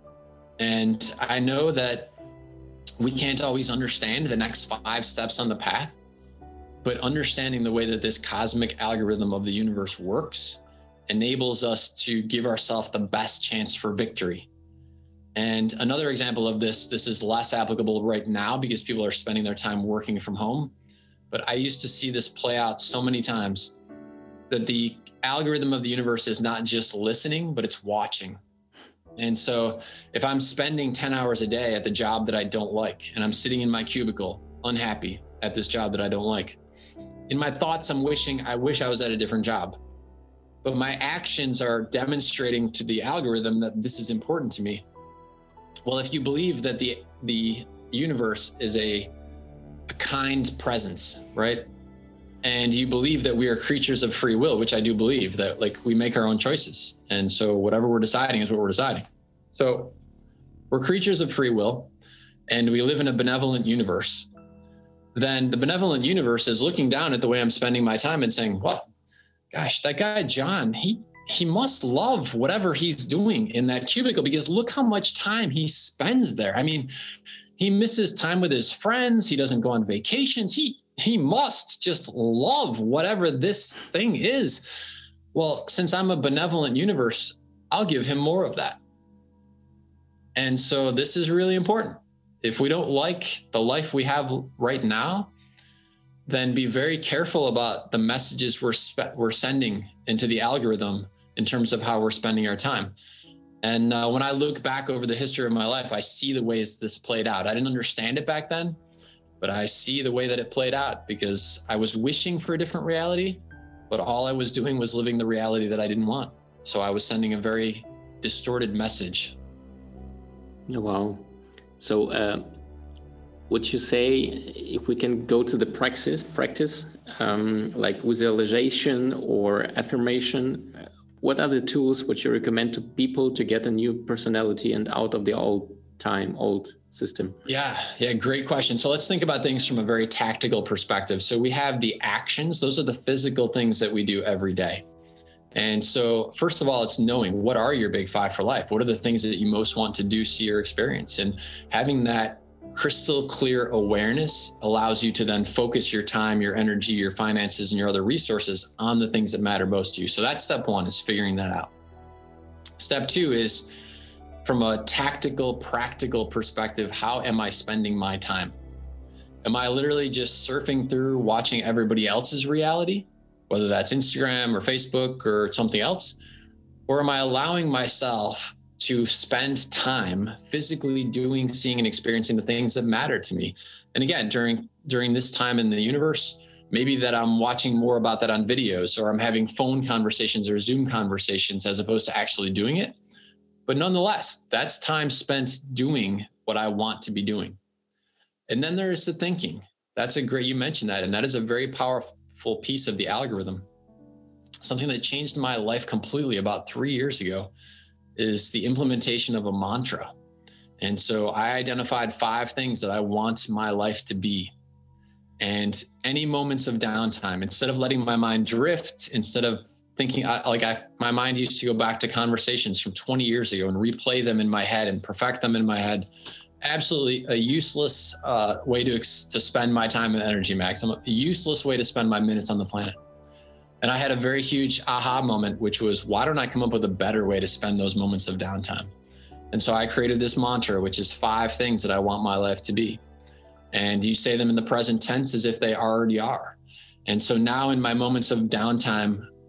And I know that we can't always understand the next five steps on the path, but understanding the way that this cosmic algorithm of the universe works enables us to give ourselves the best chance for victory. And another example of this, this is less applicable right now because people are spending their time working from home. But I used to see this play out so many times that the algorithm of the universe is not just listening, but it's watching. And so if I'm spending ten hours a day at the job that I don't like, and I'm sitting in my cubicle, unhappy at this job that I don't like, in my thoughts, I'm wishing, I wish I was at a different job. But my actions are demonstrating to the algorithm that this is important to me. Well, if you believe that the the universe is a, a kind presence, right? And you believe that we are creatures of free will, which I do believe, that like we make our own choices. And so whatever we're deciding is what we're deciding. So we're creatures of free will and we live in a benevolent universe. Then the benevolent universe is looking down at the way I'm spending my time and saying, well, gosh, that guy, John, he he must love whatever he's doing in that cubicle because look how much time he spends there. I mean, he misses time with his friends. He doesn't go on vacations. He he must just love whatever this thing is. Well, since I'm a benevolent universe, I'll give him more of that. And so this is really important. If we don't like the life we have right now, then be very careful about the messages we're spe- we're sending into the algorithm in terms of how we're spending our time. And uh, when I look back over the history of my life, I see the ways this played out. I didn't understand it back then, but I see the way that it played out because I was wishing for a different reality, but all I was doing was living the reality that I didn't want. So I was sending a very distorted message. Oh, wow. So uh, would you say if we can go to the practice, practice um, like visualization or affirmation, what are the tools which you recommend to people to get a new personality and out of the old time, old system? Yeah, yeah, great question. So let's think about things from a very tactical perspective. So we have the actions. Those are the physical things that we do every day. And so first of all, it's knowing what are your big five for life? What are the things that you most want to do, see, or experience? And having that crystal clear awareness allows you to then focus your time, your energy, your finances, and your other resources on the things that matter most to you. So that's step one, is figuring that out. Step two is from a tactical, practical perspective, how am I spending my time? Am I literally just surfing through, watching everybody else's reality, whether that's Instagram or Facebook or something else? Or am I allowing myself to spend time physically doing, seeing, and experiencing the things that matter to me? And again, during during this time in the universe, maybe that I'm watching more about that on videos, or I'm having phone conversations or Zoom conversations as opposed to actually doing it. But nonetheless, that's time spent doing what I want to be doing. And then there's the thinking. That's a great, you mentioned that, and that is a very powerful piece of the algorithm. Something that changed my life completely about three years ago is the implementation of a mantra. And so I identified five things that I want my life to be. And any moments of downtime, instead of letting my mind drift, instead of thinking, like I, my mind used to go back to conversations from twenty years ago and replay them in my head and perfect them in my head. Absolutely a useless uh, way to, to spend my time and energy, Max. A useless way to spend my minutes on the planet. And I had a very huge aha moment, which was, why don't I come up with a better way to spend those moments of downtime? And so I created this mantra, which is five things that I want my life to be. And you say them in the present tense as if they already are. And so now in my moments of downtime,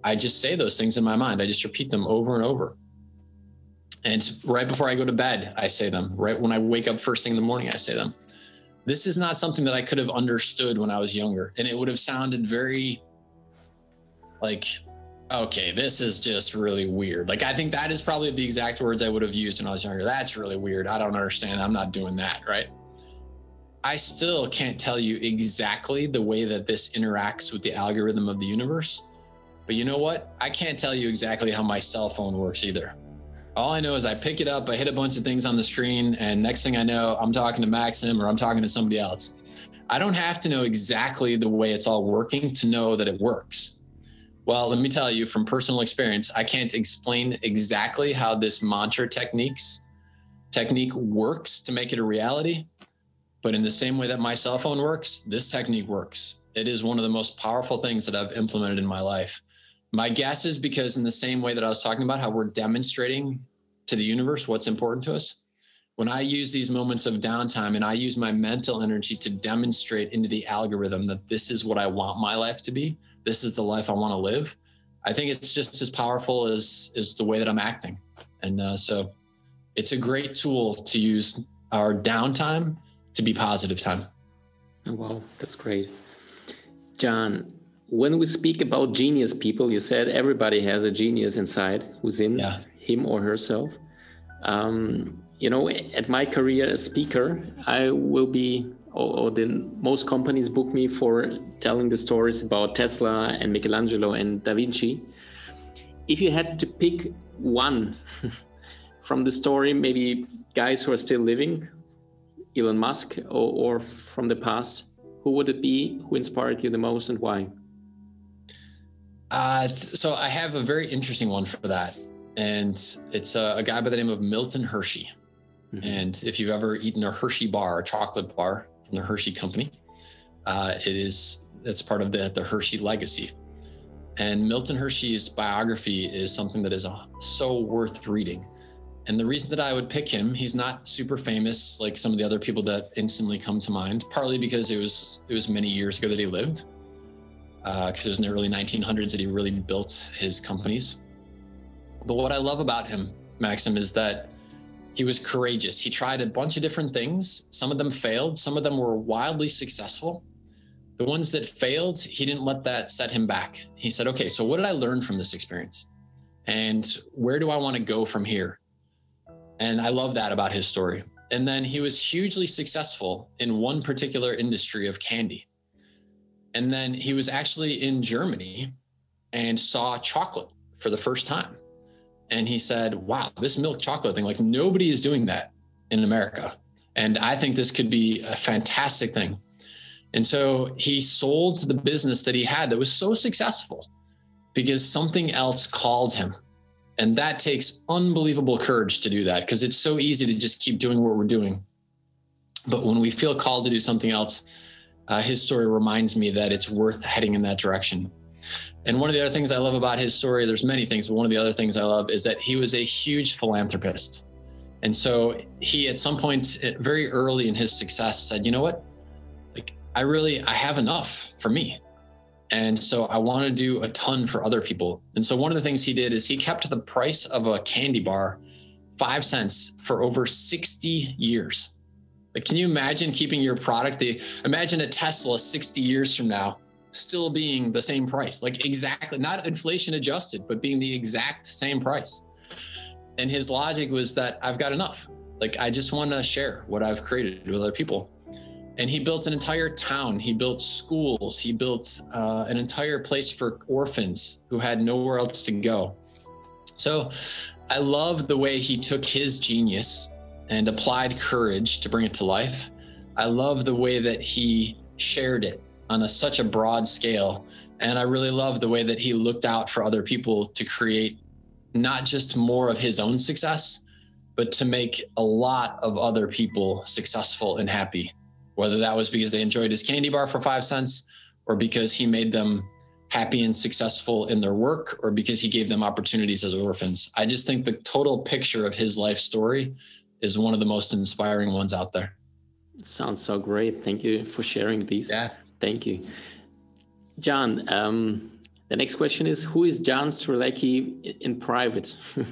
I just say those things in my mind. I just repeat them over and over. And right before I go to bed, I say them. Right when I wake up first thing in the morning, I say them. This is not something that I could have understood when I was younger. And it would have sounded very like, okay, this is just really weird. Like, I think that is probably the exact words I would have used when I was younger. That's really weird. I don't understand. I'm not doing that, right? I still can't tell you exactly the way that this interacts with the algorithm of the universe. But you know what? I can't tell you exactly how my cell phone works either. All I know is I pick it up, I hit a bunch of things on the screen, and next thing I know, I'm talking to Maxim or I'm talking to somebody else. I don't have to know exactly the way it's all working to know that it works. Well, let me tell you from personal experience, I can't explain exactly how this mantra techniques technique works to make it a reality. But in the same way that my cell phone works, this technique works. It is one of the most powerful things that I've implemented in my life. My guess is because in the same way that I was talking about how we're demonstrating to the universe what's important to us, when I use these moments of downtime and I use my mental energy to demonstrate into the algorithm that this is what I want my life to be, this is the life I want to live, I think it's just as powerful as, as the way that I'm acting. And uh, so it's a great tool to use our downtime to be positive time. Oh, wow, that's great. John, when we speak about genius people, you said everybody has a genius inside who's in yeah. him or herself. Um, you know, at my career as speaker, I will be, or, or the most companies book me for telling the stories about Tesla and Michelangelo and Da Vinci. If you had to pick one from the story, maybe guys who are still living, Elon Musk, or, or from the past, who would it be? Who inspired you the most and why? Uh, so I have a very interesting one for that. And it's a, a guy by the name of Milton Hershey. Mm-hmm. And if you've ever eaten a Hershey bar, a chocolate bar from the Hershey company, uh, it is, it's part of the, the Hershey legacy. And Milton Hershey's biography is something that is uh, so worth reading. And the reason that I would pick him, he's not super famous like some of the other people that instantly come to mind, partly because it was, it was many years ago that he lived. Because uh, it was in the early nineteen hundreds that he really built his companies. But what I love about him, Maxim, is that he was courageous. He tried a bunch of different things. Some of them failed. Some of them were wildly successful. The ones that failed, he didn't let that set him back. He said, okay, so what did I learn from this experience? And where do I want to go from here? And I love that about his story. And then he was hugely successful in one particular industry of candy. And then he was actually in Germany and saw chocolate for the first time. And he said, wow, this milk chocolate thing, like nobody is doing that in America. And I think this could be a fantastic thing. And so he sold the business that he had that was so successful because something else called him. And that takes unbelievable courage to do that because it's so easy to just keep doing what we're doing. But when we feel called to do something else, Uh, his story reminds me that it's worth heading in that direction. And one of the other things I love about his story, there's many things, but one of the other things I love is that he was a huge philanthropist. And so he, at some point very early in his success, said, you know what, like I really, I have enough for me. And so I want to do a ton for other people. And so one of the things he did is he kept the price of a candy bar five cents for over sixty years. Like, can you imagine keeping your product? The, imagine a Tesla sixty years from now still being the same price, like exactly, not inflation adjusted, but being the exact same price. And his logic was that I've got enough. Like, I just want to share what I've created with other people. And he built an entire town. He built schools. He built uh, an entire place for orphans who had nowhere else to go. So I love the way he took his genius and applied courage to bring it to life. I love the way that he shared it on a, such a broad scale. And I really love the way that he looked out for other people to create not just more of his own success, but to make a lot of other people successful and happy, whether that was because they enjoyed his candy bar for five cents or because he made them happy and successful in their work or because he gave them opportunities as orphans. I just think the total picture of his life story is one of the most inspiring ones out there. It sounds so great. Thank you for sharing these. Yeah. Thank you. John, um, The next question is, who is Jan Strzelecki in private?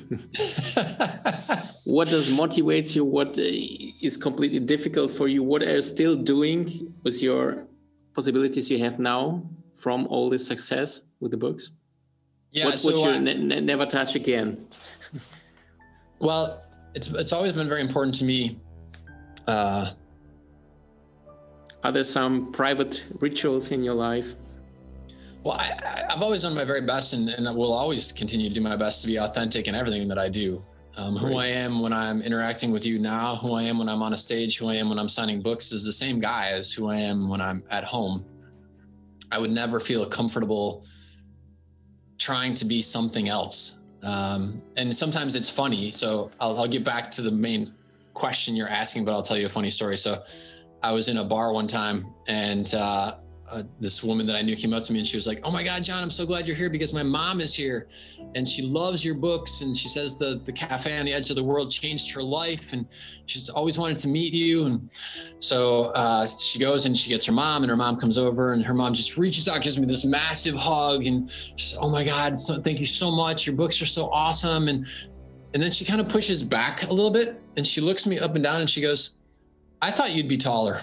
What does motivates you? What is completely difficult for you? What are you still doing with your possibilities you have now from all this success with the books? Yeah, what so would you I, ne- ne- never touch again? Well, it's it's always been very important to me. Uh, are there some private rituals in your life? Well, I, I've always done my very best, and, and I will always continue to do my best to be authentic in everything that I do. Um, who I am when I'm interacting with you now, who I am when I'm on a stage, who I am when I'm signing books is the same guy as who I am when I'm at home. I would never feel comfortable trying to be something else. Um, and sometimes it's funny. So I'll, I'll get back to the main question you're asking, but I'll tell you a funny story. So I was in a bar one time, and uh, Uh, this woman that I knew came up to me and she was like, "Oh my God, John, I'm so glad you're here because my mom is here and she loves your books. And she says the, the cafe on the edge of the world changed her life and she's always wanted to meet you." And so uh, she goes and she gets her mom, and her mom comes over and her mom just reaches out, gives me this massive hug and says, "Oh my God, so, thank you so much. Your books are so awesome." And, and then she kind of pushes back a little bit and she looks me up and down and she goes, "I thought you'd be taller."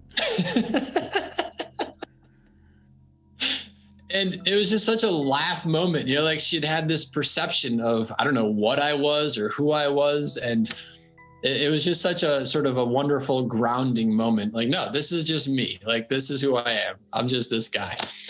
And it was just such a laugh moment, you know, like she'd had this perception of, I don't know what I was or who I was. And it, it was just such a sort of a wonderful grounding moment. Like, no, this is just me. Like, this is who I am. I'm just this guy.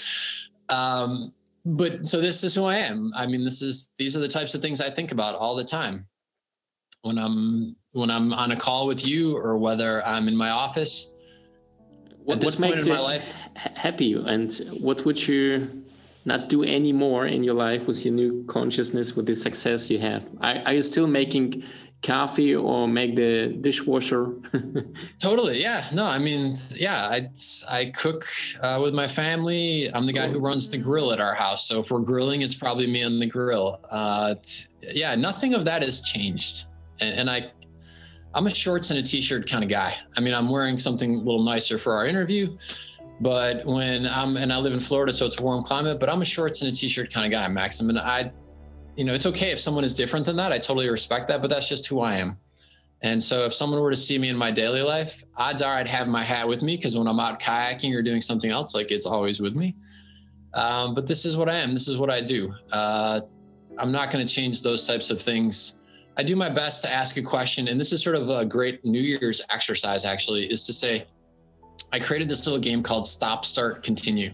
Um, but so this is who I am. I mean, this is, these are the types of things I think about all the time when I'm, when I'm on a call with you or whether I'm in my office. What, At this what point makes in you my life, happy, and what would you not do anymore in your life with your new consciousness, with the success you have? Are, are you still making coffee or make the dishwasher? Totally. Yeah. No, I mean, yeah, I, I cook uh, with my family. I'm the guy who runs the grill at our house. So if we're grilling, it's probably me on the grill. Uh, yeah, nothing of that has changed. And, and I, I'm a shorts and a t-shirt kind of guy. I mean, I'm wearing something a little nicer for our interview, but when I'm, and I live in Florida, so it's a warm climate, but I'm a shorts and a t-shirt kind of guy, Max. I mean, I, you know, it's okay if someone is different than that. I totally respect that, but that's just who I am. And so if someone were to see me in my daily life, odds are I'd have my hat with me, because when I'm out kayaking or doing something else, like, it's always with me. Um, but this is what I am. This is what I do. Uh, I'm not going to change those types of things. I do my best to ask a question. And this is sort of a great New Year's exercise, actually, is to say, I created this little game called Stop, Start, Continue.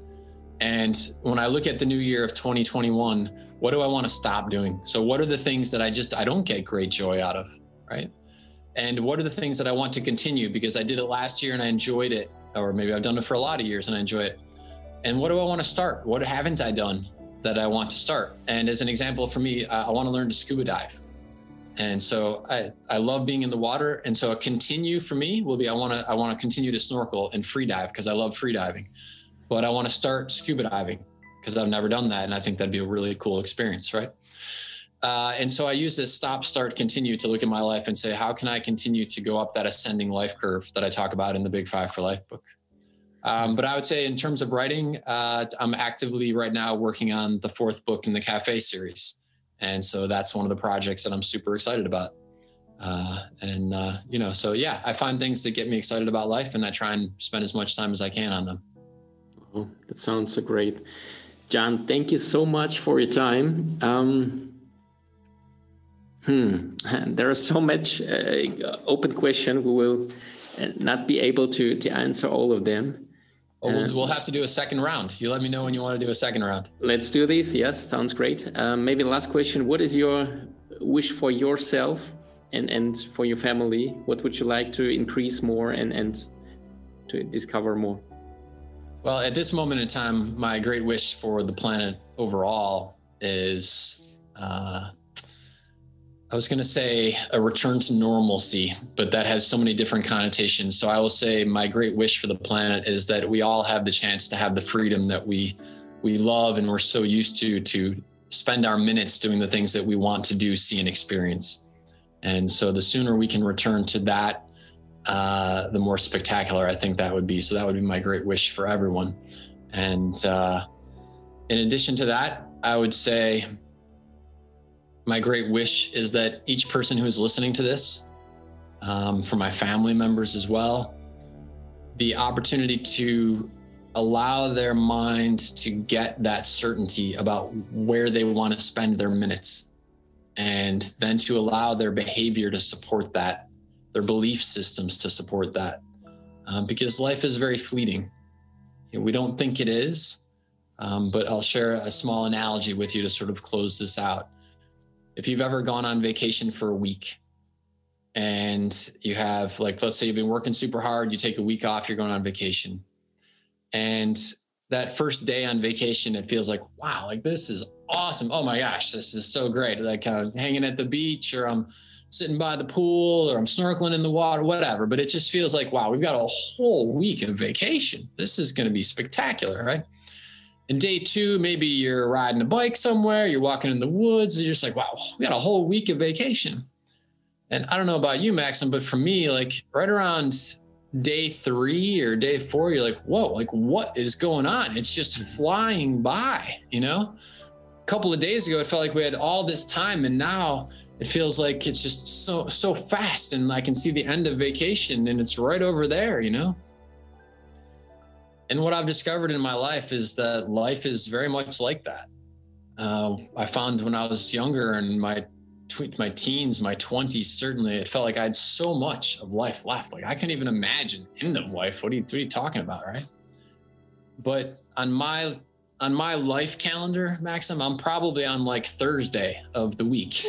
And when I look at the new year of twenty twenty-one, what do I want to stop doing? So what are the things that I just, I don't get great joy out of, right? And what are the things that I want to continue because I did it last year and I enjoyed it, or maybe I've done it for a lot of years and I enjoy it. And what do I want to start? What haven't I done that I want to start? And as an example for me, I want to learn to scuba dive. And so I, I love being in the water. And so a continue for me will be, I want to, I want to continue to snorkel and free dive because I love free diving, but I want to start scuba diving because I've never done that. And I think that'd be a really cool experience. Right. Uh, and so I use this stop, start, continue to look at my life and say, how can I continue to go up that ascending life curve that I talk about in the Big Five for Life book? Um, but I would say in terms of writing, uh, I'm actively right now working on the fourth book in the Cafe series. And so that's one of the projects that I'm super excited about. Uh, and, uh, you know, so yeah, I find things that get me excited about life and I try and spend as much time as I can on them. Oh, that sounds so great. John, thank you so much for your time. Um, hmm, there are so much uh, open questions. We will not be able to, to answer all of them. Oh, we'll, we'll have to do a second round. You let me know when you want to do a second round. Let's do this. Yes, sounds great. Um, maybe the last question. What is your wish for yourself and, and for your family? What would you like to increase more and, and to discover more? Well, at this moment in time, my great wish for the planet overall is, uh, I was going to say a return to normalcy, but that has so many different connotations. So I will say my great wish for the planet is that we all have the chance to have the freedom that we we love and we're so used to, to spend our minutes doing the things that we want to do, see, and experience. And so the sooner we can return to that, uh, the more spectacular I think that would be. So that would be my great wish for everyone. And uh, In addition to that, I would say my great wish is that each person who's listening to this, um, for my family members as well, the opportunity to allow their mind to get that certainty about where they want to spend their minutes, and then to allow their behavior to support that, their belief systems to support that, um, because life is very fleeting. We don't think it is, um, but I'll share a small analogy with you to sort of close this out. If you've ever gone on vacation for a week and you have, like, let's say you've been working super hard, you take a week off, you're going on vacation. And that first day on vacation, it feels like, wow, like this is awesome. Oh my gosh, this is so great. Like kind of hanging at the beach, or I'm sitting by the pool, or I'm snorkeling in the water, whatever. But it just feels like, wow, we've got a whole week of vacation. This is going to be spectacular, right? And day two, maybe you're riding a bike somewhere, you're walking in the woods, and you're just like, wow, we got a whole week of vacation. And I don't know about you, Maxim, but for me, like right around day three or day four, you're like, whoa, like what is going on? It's just flying by, you know? A couple of days ago, it felt like we had all this time, and now it feels like it's just so, so fast, and I can see the end of vacation and it's right over there, you know? And what I've discovered in my life is that life is very much like that. Uh, I found when I was younger, and my my teens, my twenties, certainly, it felt like I had so much of life left. Like I couldn't even imagine end of life. What are you, what are you talking about, right? But on my on my life calendar, Maxim, I'm probably on like Thursday of the week.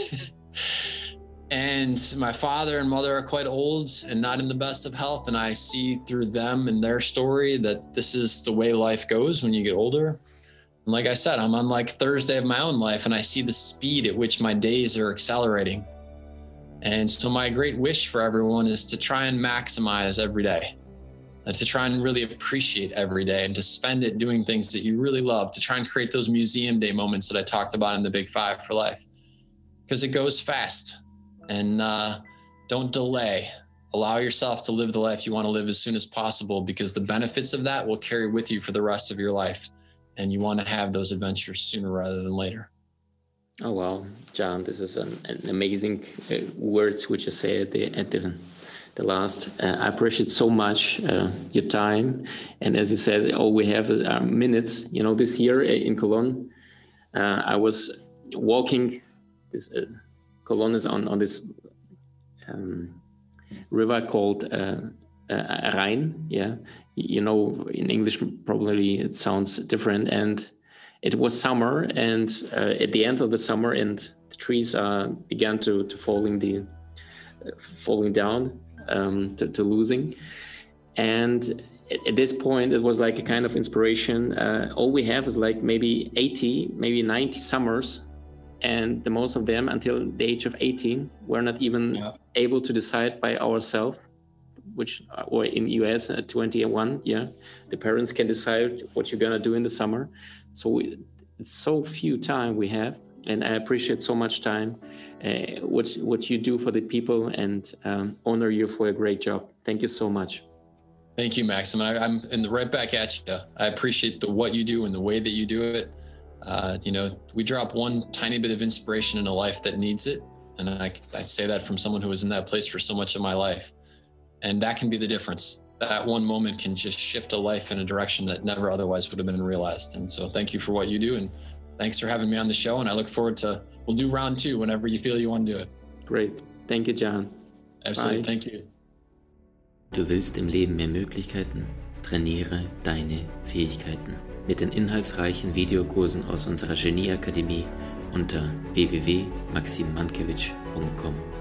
And my father and mother are quite old and not in the best of health. And I see through them and their story that this is the way life goes when you get older. And like I said, I'm on like Thursday of my own life, and I see the speed at which my days are accelerating. And so my great wish for everyone is to try and maximize every day, and to try and really appreciate every day, and to spend it doing things that you really love, to try and create those museum day moments that I talked about in the Big Five for life, because it goes fast. And uh, don't delay. Allow yourself to live the life you want to live as soon as possible, because the benefits of that will carry with you for the rest of your life. And you want to have those adventures sooner rather than later. Oh, wow, John, this is an, an amazing uh, words which you say at the, at the, the last. Uh, I appreciate so much uh, your time. And as you said, all we have is our minutes. You know, this year in Cologne, uh, I was walking this uh, Cologne is on, on this um, river called uh, uh, Rhine, yeah. You know, in English, probably it sounds different. And it was summer, and uh, at the end of the summer, and the trees uh, began to, to falling the uh, falling down, um, to, to losing. And at, at this point, it was like a kind of inspiration. Uh, all we have is like maybe eighty, maybe ninety summers. And the most of them, until the age of eighteen, we're not even yeah. able to decide by ourselves, which, or in the U S at twenty-one, yeah, the parents can decide what you're gonna do in the summer. So we, it's so few time we have, and I appreciate so much time, uh, what what you do for the people, and um, honor you for a great job. Thank you so much. Thank you, Maxim. I, I'm in the right back at you. I appreciate the what you do and the way that you do it. Uh, you know, we drop one tiny bit of inspiration in a life that needs it. And I, I say that from someone who was in that place for so much of my life. And that can be the difference. That one moment can just shift a life in a direction that never otherwise would have been realized. And so thank you for what you do. And thanks for having me on the show. And I look forward to, we'll do round two whenever you feel you want to do it. Great. Thank you, John. Absolutely. Bye. Thank you. Du willst im Leben mehr Möglichkeiten? Trainiere deine Fähigkeiten. Mit den inhaltsreichen Videokursen aus unserer Genie-Akademie unter w w w punkt maxim mankiewicz punkt com.